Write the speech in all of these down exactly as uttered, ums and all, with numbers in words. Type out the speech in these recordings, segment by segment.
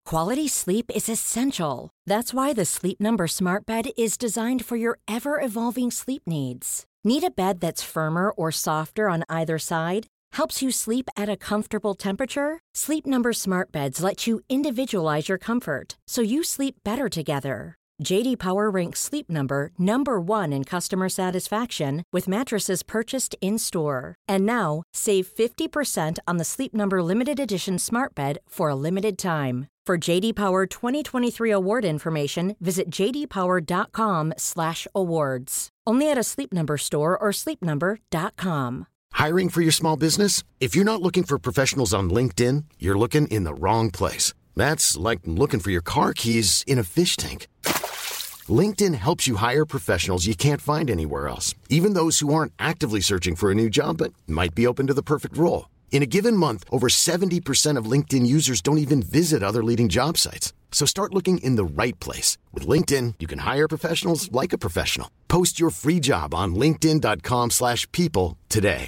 Quality sleep is essential. That's why the Sleep Number Smart Bed is designed for your ever-evolving sleep needs. Need a bed that's firmer or softer on either side? Helps you sleep at a comfortable temperature? Sleep Number Smart Beds let you individualize your comfort, so you sleep better together. J D Power ranks Sleep Number number one in customer satisfaction with mattresses purchased in-store. And now, save fifty percent on the Sleep Number Limited Edition Smart Bed for a limited time. For J D Power twenty twenty-three award information, visit j d power dot com slash awards. Only at a Sleep Number store or sleep number dot com. Hiring for your small business? If you're not looking for professionals on LinkedIn, you're looking in the wrong place. That's like looking for your car keys in a fish tank. LinkedIn helps you hire professionals you can't find anywhere else, even those who aren't actively searching for a new job but might be open to the perfect role. In a given month, over seventy percent of LinkedIn users don't even visit other leading job sites. So start looking in the right place. With LinkedIn, you can hire professionals like a professional. Post your free job on linkedin dot com slash people today.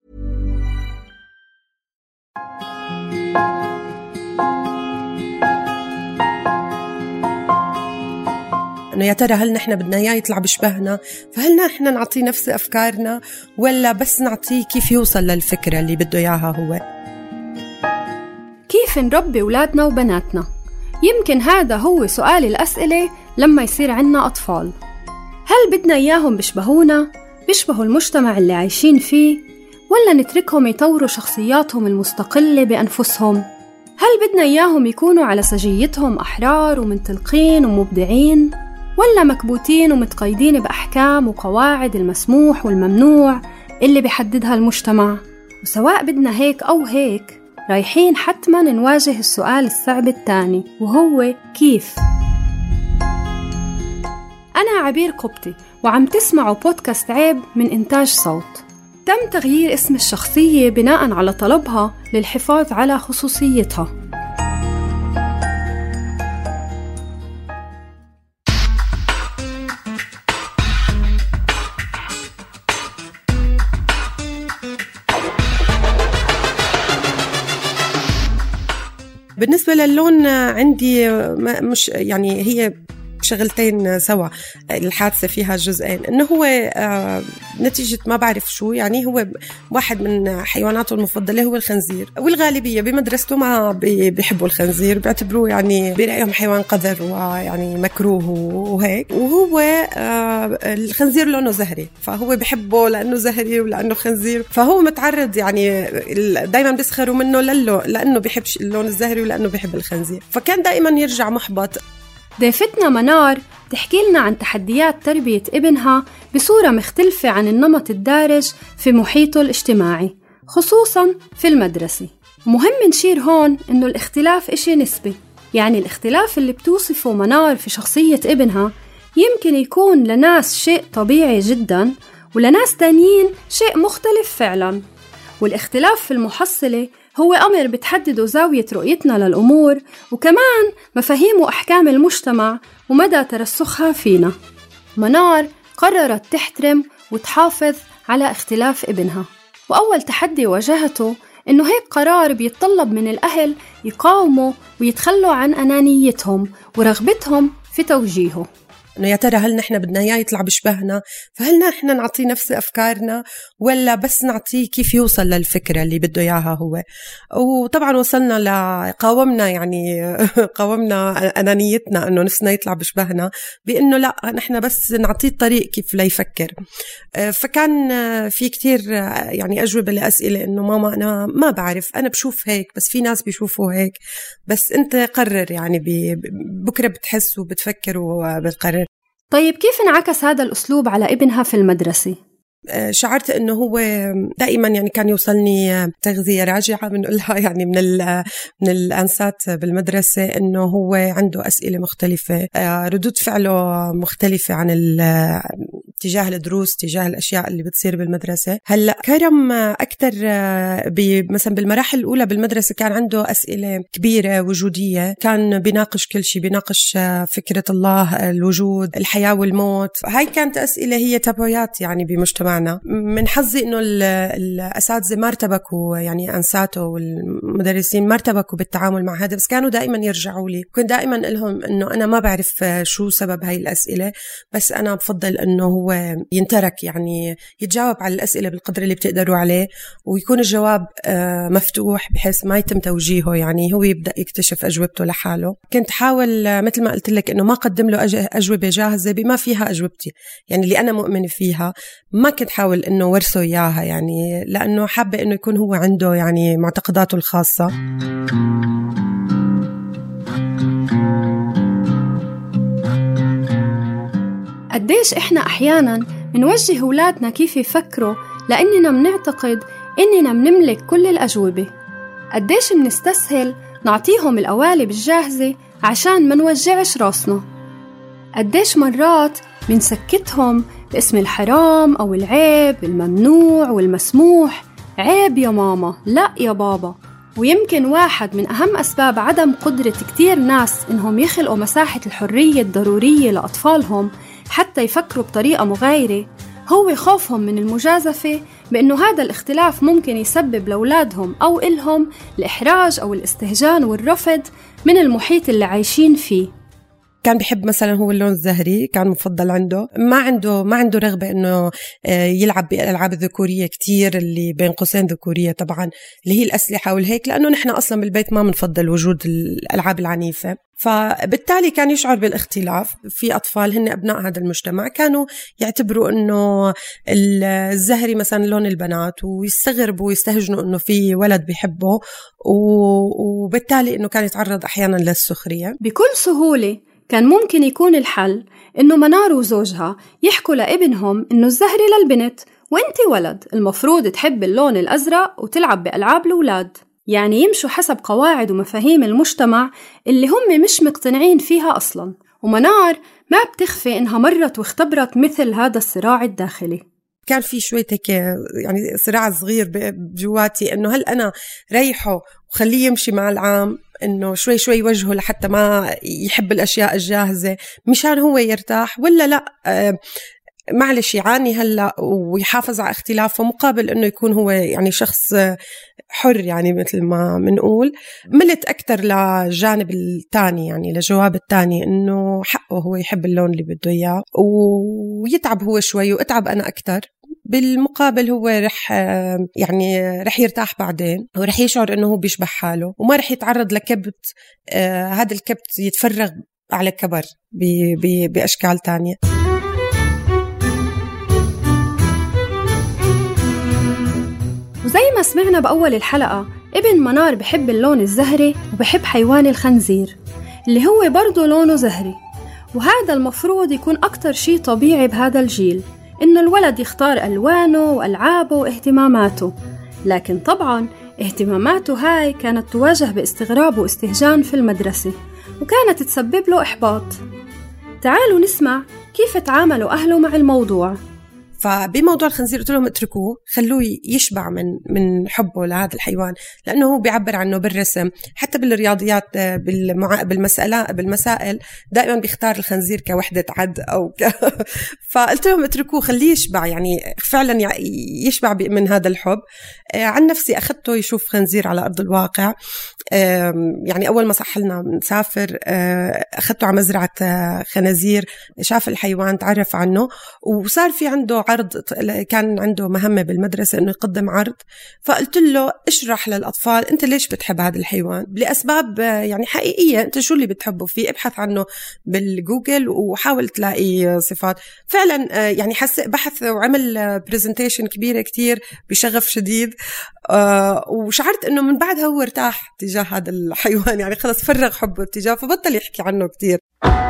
إنه يا ترى هل نحن بدنا إياه يطلع بشبهنا؟ فهل نحن نعطيه نفس أفكارنا ولا بس نعطيه كيف يوصل للفكرة اللي بده إياها هو؟ كيف نربي أولادنا وبناتنا؟ يمكن هذا هو سؤال الأسئلة لما يصير عنا أطفال. هل بدنا إياهم بيشبهونا؟ بيشبهوا المجتمع اللي عايشين فيه؟ ولا نتركهم يطوروا شخصياتهم المستقلة بأنفسهم؟ هل بدنا إياهم يكونوا على سجيتهم أحرار ومنطلقين ومبدعين؟ ولا مكبوتين ومتقيدين بأحكام وقواعد المسموح والممنوع اللي بيحددها المجتمع؟ وسواء بدنا هيك أو هيك رايحين حتما نواجه السؤال الصعب الثاني، وهو كيف؟ أنا عبير قبطي وعم تسمعوا بودكاست عيب من إنتاج صوت. تم تغيير اسم الشخصية بناء على طلبها للحفاظ على خصوصيتها. بالنسبة للون عندي مش يعني هي شغلتين سوا. الحادثة فيها جزئين، إنه هو آه نتيجة ما بعرف شو، يعني هو واحد من حيواناته المفضلة هو الخنزير، والغالبية بمدرسته ما بيحبوا الخنزير، بيعتبروه يعني برأيهم حيوان قذر ويعني مكروه وهيك. وهو آه الخنزير لونه زهري، فهو بيحبه لأنه زهري ولأنه خنزير، فهو متعرض يعني دايما بيسخروا منه لله لأنه بيحبش اللون الزهري ولأنه بيحب الخنزير، فكان دائما يرجع محبط. ضيفتنا منار تحكي لنا عن تحديات تربية ابنها بصورة مختلفة عن النمط الدارج في محيطه الاجتماعي، خصوصاً في المدرسة. مهم نشير هون إنه الاختلاف إشي نسبي، يعني الاختلاف اللي بتوصفه منار في شخصية ابنها يمكن يكون لناس شيء طبيعي جداً، ولناس تانيين شيء مختلف فعلاً. والاختلاف في المحصلة هو أمر بتحدده زاوية رؤيتنا للأمور، وكمان مفاهيم وأحكام المجتمع ومدى ترسخها فينا. منار قررت تحترم وتحافظ على اختلاف ابنها، وأول تحدي واجهته إنه هيك قرار بيتطلب من الأهل يقاوموا ويتخلوا عن أنانيتهم ورغبتهم في توجيهه. إنه يا ترى هل نحن بدنا إياه يطلع بشبهنا؟ فهل نحن نعطيه نفس أفكارنا ولا بس نعطيه كيف يوصل للفكرة اللي بده إياها هو؟ وطبعا وصلنا لقاومنا، يعني قاومنا أنانيتنا إنه نفسنا يطلع بشبهنا بإنه لا، نحن بس نعطيه الطريق كيف لا يفكر. فكان في كتير يعني أجوبة لأسئلة إنه ماما أنا ما بعرف، أنا بشوف هيك بس في ناس بيشوفوا هيك، بس أنت قرر، يعني بكرة بتحس وبتفكر وبتقرر. طيب كيف انعكس هذا الأسلوب على ابنها في المدرسة؟ شعرت إنه هو دائما يعني كان يوصلني تغذية راجعة بنقولها يعني من من الأنسات بالمدرسة، إنه هو عنده أسئلة مختلفة، ردود فعله مختلفة عن تجاه الدروس، تجاه الأشياء اللي بتصير بالمدرسة. هلأ كرم أكتر مثلا بالمراحل الأولى بالمدرسة كان عنده أسئلة كبيرة وجودية، كان بيناقش كل شيء، بيناقش فكرة الله، الوجود، الحياة والموت. هاي كانت أسئلة هي تبعيات يعني بمجتمع بمجتمعنا. من حظي إنه الأساتذة ما ارتبكوا، يعني أنساتوا والمدرسين ما ارتبكوا بالتعامل مع هذا، بس كانوا دائما يرجعوا لي. كنت دائما لهم إنه أنا ما بعرف شو سبب هاي الأسئلة، بس أنا بفضل إنه هو ينترك، يعني يتجاوب على الأسئلة بالقدر اللي بتقدروا عليه، ويكون الجواب مفتوح بحيث ما يتم توجيهه، يعني هو يبدأ يكتشف أجوبته لحاله. كنت حاول مثل ما قلت لك إنه ما قدم له أجوبة جاهزة بما فيها أجوبتي، يعني اللي أنا مؤمنة فيها ما كنت حاول إنه ورثه إياها، يعني لأنه حابة إنه يكون هو عنده يعني معتقداته الخاصة. قديش إحنا أحياناً منوجه أولادنا كيف يفكروا لأننا منعتقد إننا منملك كل الأجوبة. قديش منستسهل نعطيهم القوالب الجاهزة عشان ما نوجعش راسنا. قديش مرات منسكتهم باسم الحرام أو العيب، الممنوع والمسموح. عيب يا ماما، لا يا بابا. ويمكن واحد من أهم أسباب عدم قدرة كتير ناس إنهم يخلقوا مساحة الحرية الضرورية لأطفالهم حتى يفكروا بطريقة مغايرة هو خوفهم من المجازفة، بأنه هذا الاختلاف ممكن يسبب لأولادهم أو إلهم الإحراج أو الاستهجان والرفض من المحيط اللي عايشين فيه. كان بيحب مثلا هو اللون الزهري، كان مفضل عنده. ما عنده ما عنده رغبة إنه يلعب بالألعاب الذكورية كتير، اللي بين قوسين ذكورية طبعا، اللي هي الأسلحة والهيك، لأنه نحن أصلا بالبيت ما منفضل وجود الألعاب العنيفة. فبالتالي كان يشعر بالاختلاف. في أطفال هن أبناء هذا المجتمع كانوا يعتبروا إنه الزهري مثلا لون البنات، ويستغربوا ويستهجنوا إنه في ولد بيحبه، وبالتالي إنه كان يتعرض أحيانا للسخرية. بكل سهولة كان ممكن يكون الحل إنه منار وزوجها يحكوا لابنهم إنه الزهري للبنت وإنتي ولد، المفروض تحب اللون الأزرق وتلعب بألعاب الأولاد. يعني يمشوا حسب قواعد ومفاهيم المجتمع اللي هم مش مقتنعين فيها أصلاً. ومنار ما بتخفي إنها مرت واختبرت مثل هذا الصراع الداخلي. كان في شوية هيك يعني صراع صغير بجواتي، إنه هل أنا ريحه وخليه يمشي مع العام، إنه شوي شوي وجهه لحتى ما يحب الأشياء الجاهزة مشان هو يرتاح، ولا لأ آه معلش يعاني هلأ ويحافظ على اختلافه مقابل إنه يكون هو يعني شخص حر، يعني مثل ما منقول. ملت أكتر لجانب التاني، يعني لجواب التاني، إنه حقه هو يحب اللون اللي بده إياه، ويتعب هو شوي وأتعب أنا أكتر. بالمقابل هو رح يعني رح يرتاح بعدين، ورح يشعر إنه هو بيشبه حاله وما رح يتعرض لكبت. آه هذا الكبت يتفرغ على كبر بأشكال تانية. وزي ما سمعنا بأول الحلقة، ابن منار بحب اللون الزهري وبحب حيوان الخنزير اللي هو برضو لونه زهري. وهذا المفروض يكون أكتر شيء طبيعي بهذا الجيل، إنه الولد يختار ألوانه وألعابه واهتماماته. لكن طبعاً اهتماماته هاي كانت تواجه باستغراب واستهجان في المدرسة، وكانت تسبب له إحباط. تعالوا نسمع كيف تعاملوا أهله مع الموضوع. فبموضوع الخنزير قلت لهم اتركوه، خلوه يشبع من من حبه لهذا الحيوان، لأنه هو بيعبر عنه بالرسم، حتى بالرياضيات بالمع... بالمسألة بالمسائل دائما بيختار الخنزير كوحدة عد أو ك... فقلت لهم اتركوه خليه يشبع، يعني فعلا يشبع من هذا الحب. عن نفسي أخذته يشوف خنزير على أرض الواقع. يعني أول ما صحلنا نسافر أخذته على مزرعة خنازير، شاف الحيوان تعرف عنه، وصار في عنده عرض، كان عنده مهمة بالمدرسة إنه يقدم عرض. فقلت له اشرح للأطفال أنت ليش بتحب هذا الحيوان لأسباب يعني حقيقية، أنت شو اللي بتحبه فيه، ابحث عنه بالجوجل وحاول تلاقي صفات. فعلا يعني حس بحث وعمل بريزنتيشن كبيرة كتير بشغف شديد، وشعرت إنه من بعدها هو ارتاح تجاه هذا الحيوان، يعني خلص فرغ حبه تجاه، فبطل يحكي عنه كتير.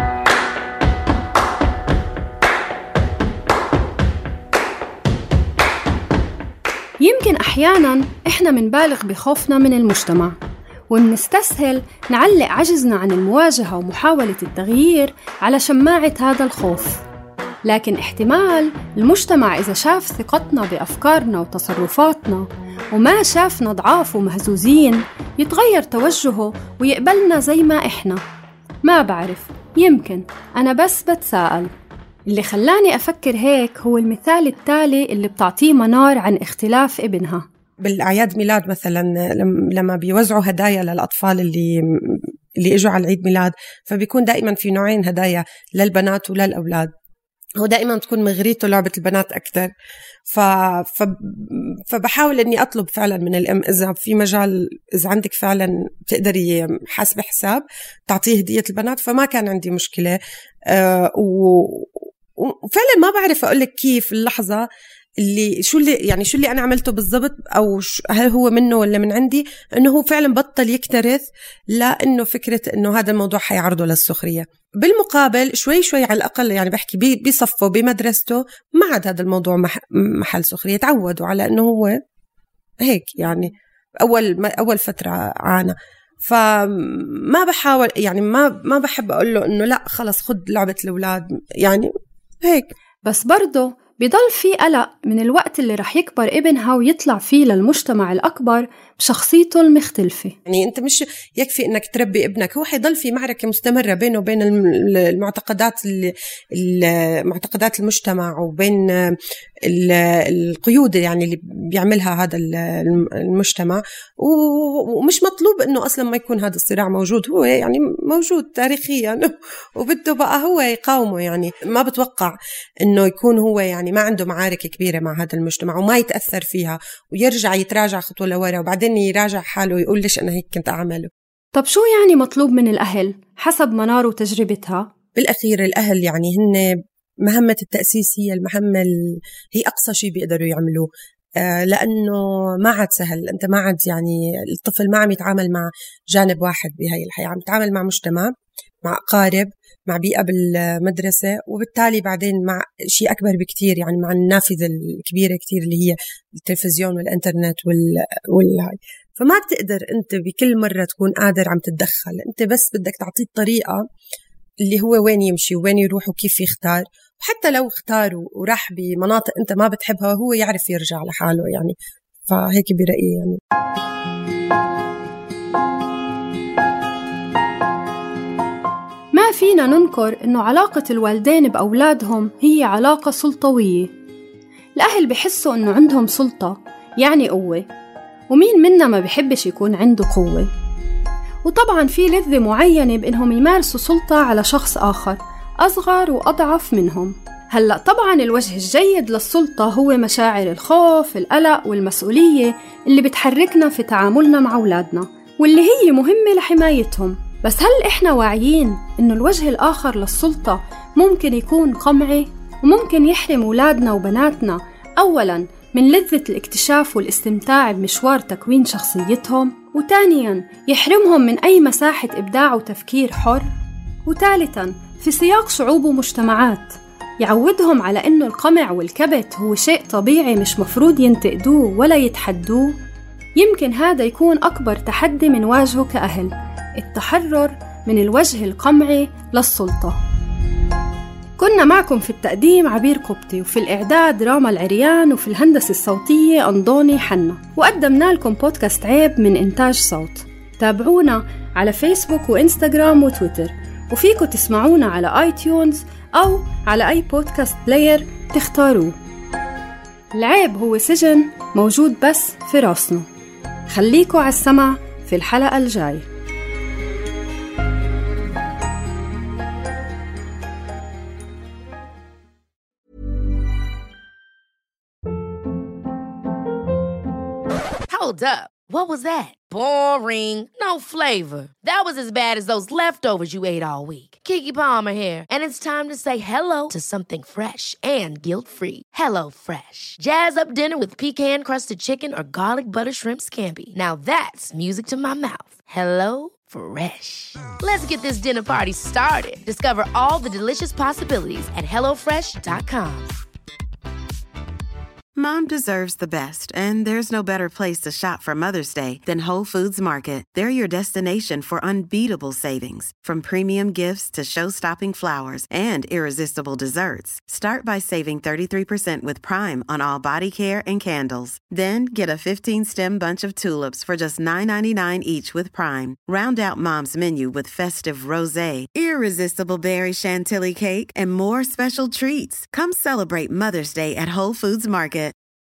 يمكن أحياناً إحنا منبالغ بخوفنا من المجتمع، ونستسهل نعلق عجزنا عن المواجهة ومحاولة التغيير على شماعة هذا الخوف. لكن احتمال المجتمع إذا شاف ثقتنا بأفكارنا وتصرفاتنا وما شافنا ضعاف ومهزوزين يتغير توجهه ويقبلنا زي ما إحنا. ما بعرف، يمكن أنا بس بتساءل. اللي خلاني أفكر هيك هو المثال التالي اللي بتعطيه منار عن اختلاف ابنها. بالأعياد ميلاد مثلا لما بيوزعوا هدايا للأطفال اللي اللي اجوا على العيد ميلاد، فبيكون دائما في نوعين هدايا للبنات وللأولاد. هو دائما تكون مغريته لعبة البنات أكتر، ف... ف... فبحاول أني أطلب فعلا من الأم إذا في مجال، إذا عندك فعلا تقدري حسب حساب تعطيه هدية البنات، فما كان عندي مشكلة. أه و... وفعلا ما بعرف أقولك كيف اللحظة اللي شو اللي يعني شو اللي أنا عملته بالضبط، أو هل هو منه ولا من عندي، إنه هو فعلا بطل يكترث، لأنه فكرة إنه هذا الموضوع حيعرضه للسخرية. بالمقابل شوي شوي على الأقل يعني بحكي بصفه بمدرسته ما عاد هذا الموضوع محل سخرية، تعودوا على إنه هو هيك. يعني أول أول فترة عانى، فما بحاول يعني ما ما بحب أقول له إنه لا خلص خد لعبة الأولاد يعني هيك. بس برضه بيضل في قلق من الوقت اللي رح يكبر ابنها ويطلع فيه للمجتمع الأكبر بشخصيته المختلفة. يعني أنت مش يكفي أنك تربي ابنك، هو حيضل في معركة مستمرة بينه وبين المعتقدات المعتقدات المجتمع وبين القيود يعني اللي بيعملها هذا المجتمع، ومش مطلوب أنه أصلا ما يكون هذا الصراع موجود، هو يعني موجود تاريخيا وبده بقى هو يقاومه. يعني ما بتوقع أنه يكون هو يعني ما عنده معارك كبيرة مع هذا المجتمع وما يتأثر فيها ويرجع يتراجع خطوة لورا وبعدين يراجع حاله ويقول ليش أنا هيك كنت أعمله. طب شو يعني مطلوب من الأهل حسب منار وتجربتها؟ بالأخير الأهل يعني هن مهمة التأسيس هي المهمة هي أقصى شيء بيقدروا يعملوه، آه لأنه ما عاد سهل. أنت ما عاد يعني الطفل ما عم يتعامل مع جانب واحد بهاي الحياة، عم يتعامل مع مجتمع، مع أقارب، مع بيئة بالمدرسة، وبالتالي بعدين مع شيء أكبر بكتير يعني مع النافذة الكبيرة كتير اللي هي التلفزيون والإنترنت والهاي. فما بتقدر أنت بكل مرة تكون قادر عم تتدخل، أنت بس بدك تعطيه الطريقة اللي هو وين يمشي وين يروح وكيف يختار، وحتى لو اختار وراح بمناطق أنت ما بتحبها هو يعرف يرجع لحاله يعني. فهيك برأيي يعني. ما فينا ننكر إنه علاقة الوالدين بأولادهم هي علاقة سلطوية. الأهل بحسوا إنه عندهم سلطة يعني قوة، ومين منا ما بيحبش يكون عنده قوة؟ وطبعاً في لذة معينة بإنهم يمارسوا سلطة على شخص آخر أصغر وأضعف منهم. هلأ طبعاً الوجه الجيد للسلطة هو مشاعر الخوف، القلق والمسؤولية اللي بتحركنا في تعاملنا مع أولادنا، واللي هي مهمة لحمايتهم. بس هل إحنا واعيين إنه الوجه الآخر للسلطة ممكن يكون قمعي، وممكن يحرم أولادنا وبناتنا أولاً من لذة الاكتشاف والاستمتاع بمشوار تكوين شخصيتهم، وثانياً يحرمهم من أي مساحة إبداع وتفكير حر، وثالثاً في سياق شعوب ومجتمعات يعودهم على إنه القمع والكبت هو شيء طبيعي مش مفروض ينتقدوه ولا يتحدوه؟ يمكن هذا يكون أكبر تحدي من واجهه كأهل، التحرر من الوجه القمعي للسلطة. كنا معكم في التقديم عبير قبطي، وفي الإعداد راما العريان، وفي الهندسة الصوتية أنضوني حنا، وقدمنا لكم بودكاست عيب من إنتاج صوت. تابعونا على فيسبوك وإنستغرام وتويتر، وفيكم تسمعونا على آي تيونز أو على أي بودكاست بلاير تختاروه. العيب هو سجن موجود بس في راسنا. خليكوا على السمع في الحلقة الجاي. Hold up. What was that? Boring. No flavor. That was as bad as those leftovers you ate all week. Keke Palmer here, and it's time to say hello to something fresh and guilt-free. Hello Fresh. Jazz up dinner with pecan-crusted chicken or garlic butter shrimp scampi. Now that's music to my mouth. Hello Fresh. Let's get this dinner party started. Discover all the delicious possibilities at hello fresh dot com. Mom deserves the best, and there's no better place to shop for Mother's Day than Whole Foods Market. They're your destination for unbeatable savings, from premium gifts to show-stopping flowers and irresistible desserts. Start by saving thirty-three percent with Prime on all body care and candles. Then get a fifteen-stem bunch of tulips for just nine ninety-nine each with Prime. Round out Mom's menu with festive rosé, irresistible berry chantilly cake, and more special treats. Come celebrate Mother's Day at Whole Foods Market.